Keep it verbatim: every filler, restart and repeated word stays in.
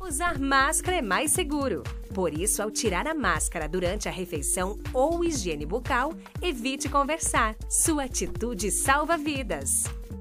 Usar máscara é mais seguro. Por isso, ao tirar a máscara durante a refeição ou higiene bucal, evite conversar. Sua atitude salva vidas.